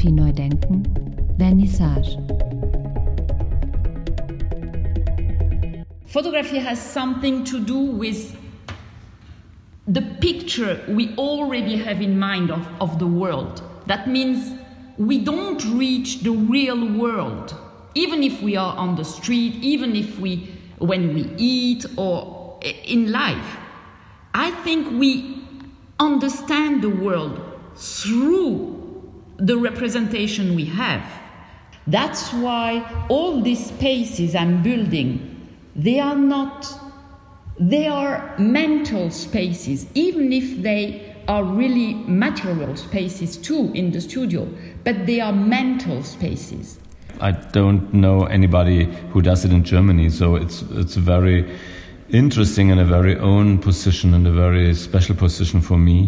Fotografie neu denken, Vernissage. Photography has something to do with the picture we already have in mind of the world. That means we don't reach the real world, even if we are on the street, even if when we eat or in life. I think we understand the world through the representation we have. That's why all these spaces I'm building, they are mental spaces, even if they are really material spaces too in the studio, but they are mental spaces. I don't know anybody who does it in Germany, so it's very interesting and a very own position and a very special position for me.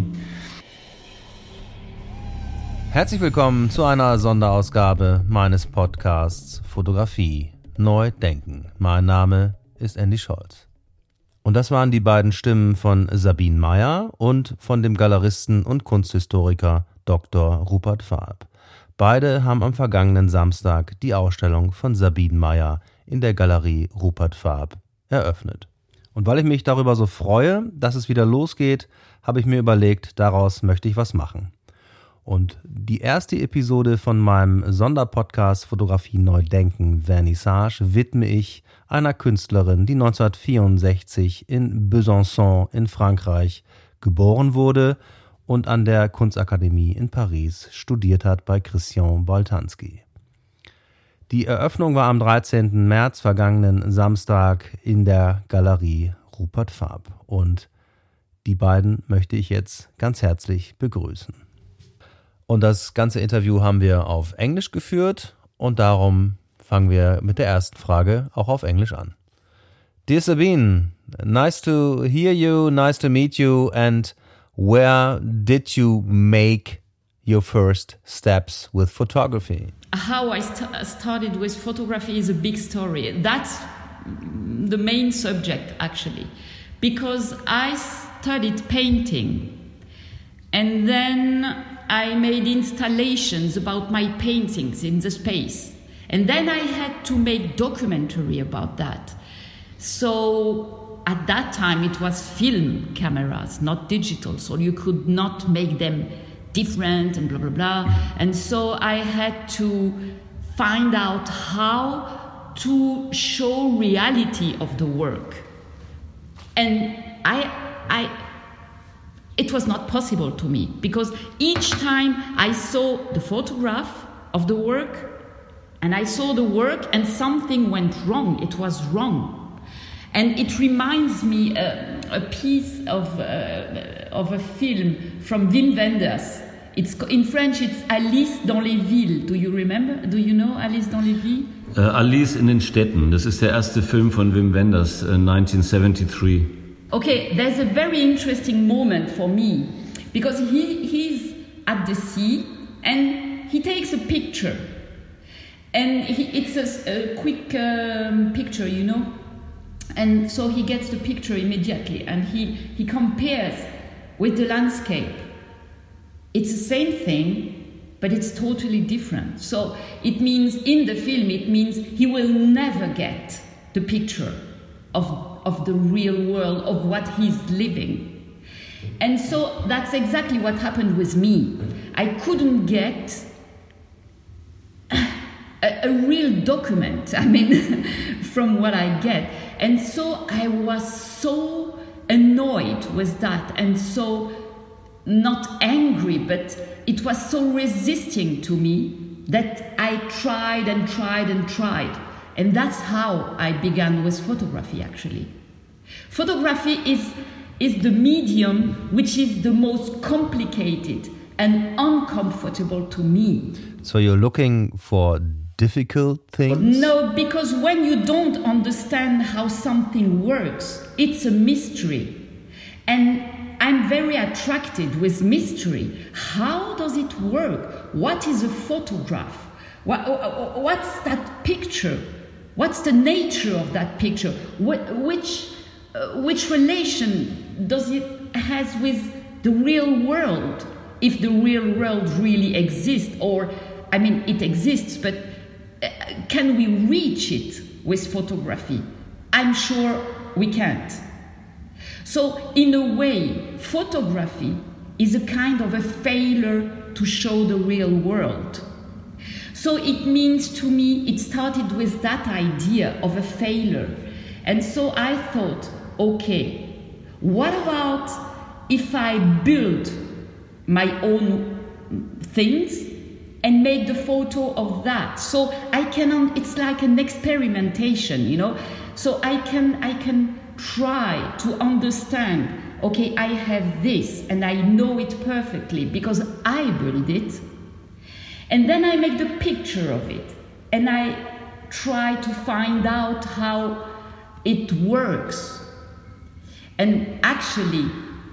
Herzlich willkommen zu einer Sonderausgabe meines Podcasts Fotografie neu denken. Mein Name ist Andy Scholz. Und das waren die beiden Stimmen von Sabine Meyer und von dem Galeristen und Kunsthistoriker Dr. Rupert Farb. Beide haben am vergangenen Samstag die Ausstellung von Sabine Meyer in der Galerie Rupert Farb eröffnet. Und weil ich mich darüber so freue, dass es wieder losgeht, habe ich mir überlegt, daraus möchte ich was machen. Und die erste Episode von meinem Sonderpodcast Fotografie neu denken, Vernissage, widme ich einer Künstlerin, die 1964 in Besançon in Frankreich geboren wurde und an der Kunstakademie in Paris studiert hat bei Christian Boltanski. Die Eröffnung war am 13. März vergangenen Samstag in der Galerie Rupert Farb und die beiden möchte ich jetzt ganz herzlich begrüßen. Und das ganze Interview haben wir auf Englisch geführt und darum fangen wir mit der ersten Frage auch auf Englisch an. Dear Sabine, nice to hear you, nice to meet you, and where did you make your first steps with photography? How I started with photography is a big story. That's the main subject, actually, because I studied painting and then I made installations about my paintings in the space. And then I had to make documentary about that. So at that time it was film cameras, not digital, so you could not make them different and blah, blah, blah. And so I had to find out how to show reality of the work. And it was not possible to me because each time I saw the photograph of the work and I saw the work and something went wrong. It was wrong. And it reminds me a piece of a film from Wim Wenders. It's in French. It's Alice dans les villes. Do you remember? Do you know Alice dans les villes? Alice in den Städten. Das ist der erste Film von Wim Wenders, 1973. Okay, there's a very interesting moment for me because he's at the sea and he takes a picture. And it's a quick picture, you know. And so he gets the picture immediately and he compares with the landscape. It's the same thing, but it's totally different. So it means in the film, it means he will never get the picture of the real world, of what he's living. And so that's exactly what happened with me. I couldn't get a real document, from what I get. And so I was so annoyed with that and so not angry, but it was so resisting to me that I tried and tried and tried. And that's how I began with photography, actually. Photography is the medium which is the most complicated and uncomfortable to me. So you're looking for difficult things? No, because when you don't understand how something works, it's a mystery. And I'm very attracted with mystery. How does it work? What is a photograph? What's that picture? What's the nature of that picture? Which relation does it has with the real world? If the real world really exists, or I mean, it exists, but can we reach it with photography? I'm sure we can't. So in a way, photography is a kind of a failure to show the real world. So it means to me, it started with that idea of a failure. And so I thought, okay, what about if I build my own things and make the photo of that? So I can, it's like an experimentation, you know? So I can try to understand, okay, I have this and I know it perfectly because I built it. And then I make the picture of it and I try to find out how it works. And actually,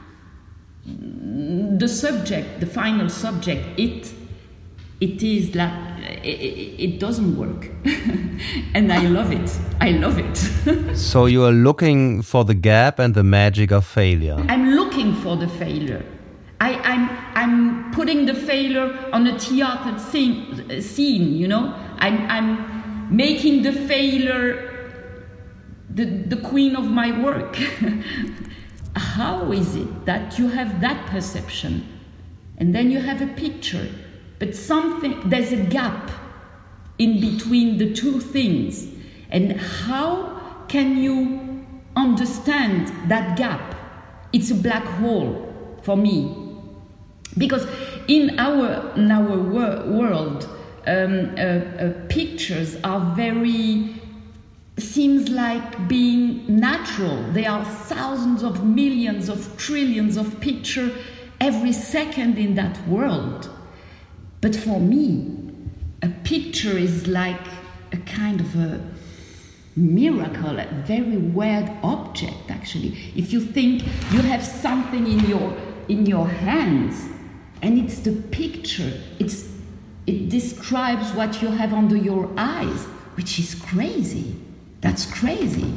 the subject, the final subject, it is like, it doesn't work. And I love it. I love it. So you are looking for the gap and the magic of failure. I'm looking for the failure. I'm putting the failure on a theater scene, you know. I'm making the failure the queen of my work. How is it that you have that perception and then you have a picture, but there's a gap in between the two things, and how can you understand that gap? It's a black hole for me, because in our world, pictures are very, seems like being natural. There are thousands of millions of trillions of pictures every second in that world. But for me, a picture is like a kind of a miracle, a very weird object, actually. If you think you have something in your hands, and it's the picture, it describes what you have under your eyes, which is crazy. That's crazy.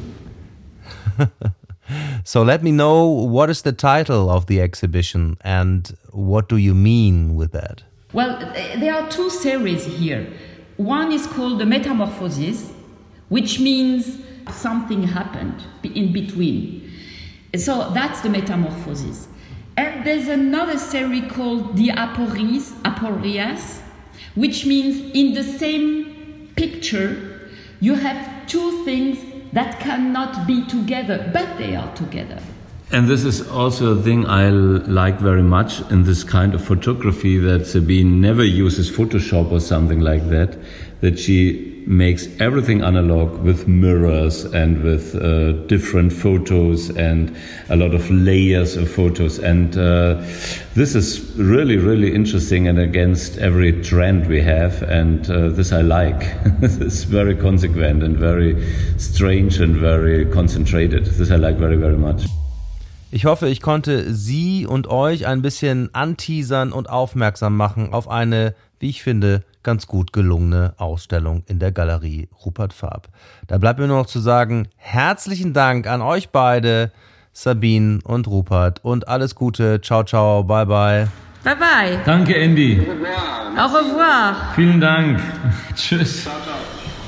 So let me know, what is the title of the exhibition and what do you mean with that? Well, there are two series here. One is called the Metamorphosis, which means something happened in between. So that's the Metamorphosis. And there's another series called the Aporias, which means in the same picture you have two things that cannot be together, but they are together. And this is also a thing I like very much in this kind of photography, that Sabine never uses Photoshop or something like that, that she makes everything analog with mirrors and with different photos and a lot of layers of photos. And this is really, really interesting and against every trend we have. And this I like. It's very consequent and very strange and very concentrated. This I like very, very much. Ich hoffe, ich konnte Sie und euch ein bisschen anteasern und aufmerksam machen auf eine, wie ich finde, ganz gut gelungene Ausstellung in der Galerie Rupert Farb. Da bleibt mir nur noch zu sagen, herzlichen Dank an euch beide, Sabine und Rupert, und alles Gute. Ciao, ciao, bye, bye. Bye, bye. Danke, Andy. Au revoir. Vielen Dank. Tschüss. Ciao, ciao.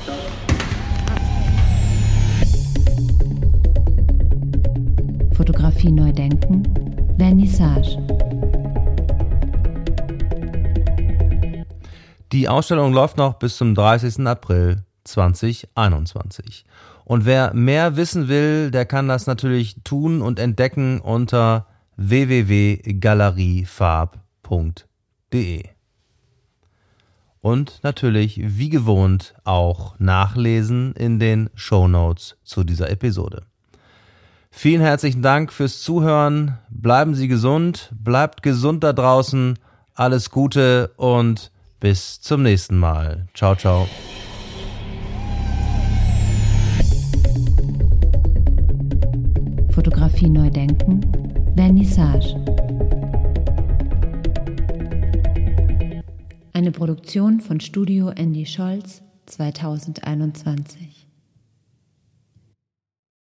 Fotografie neu denken, Vernissage. Die Ausstellung läuft noch bis zum 30. April 2021. Und wer mehr wissen will, der kann das natürlich tun und entdecken unter www.galeriefarb.de. Und natürlich, wie gewohnt, auch nachlesen in den Shownotes zu dieser Episode. Vielen herzlichen Dank fürs Zuhören. Bleiben Sie gesund, bleibt gesund da draußen. Alles Gute und bis zum nächsten Mal. Ciao, ciao. Fotografie neu denken, Vernissage. Eine Produktion von Studio Andy Scholz 2021.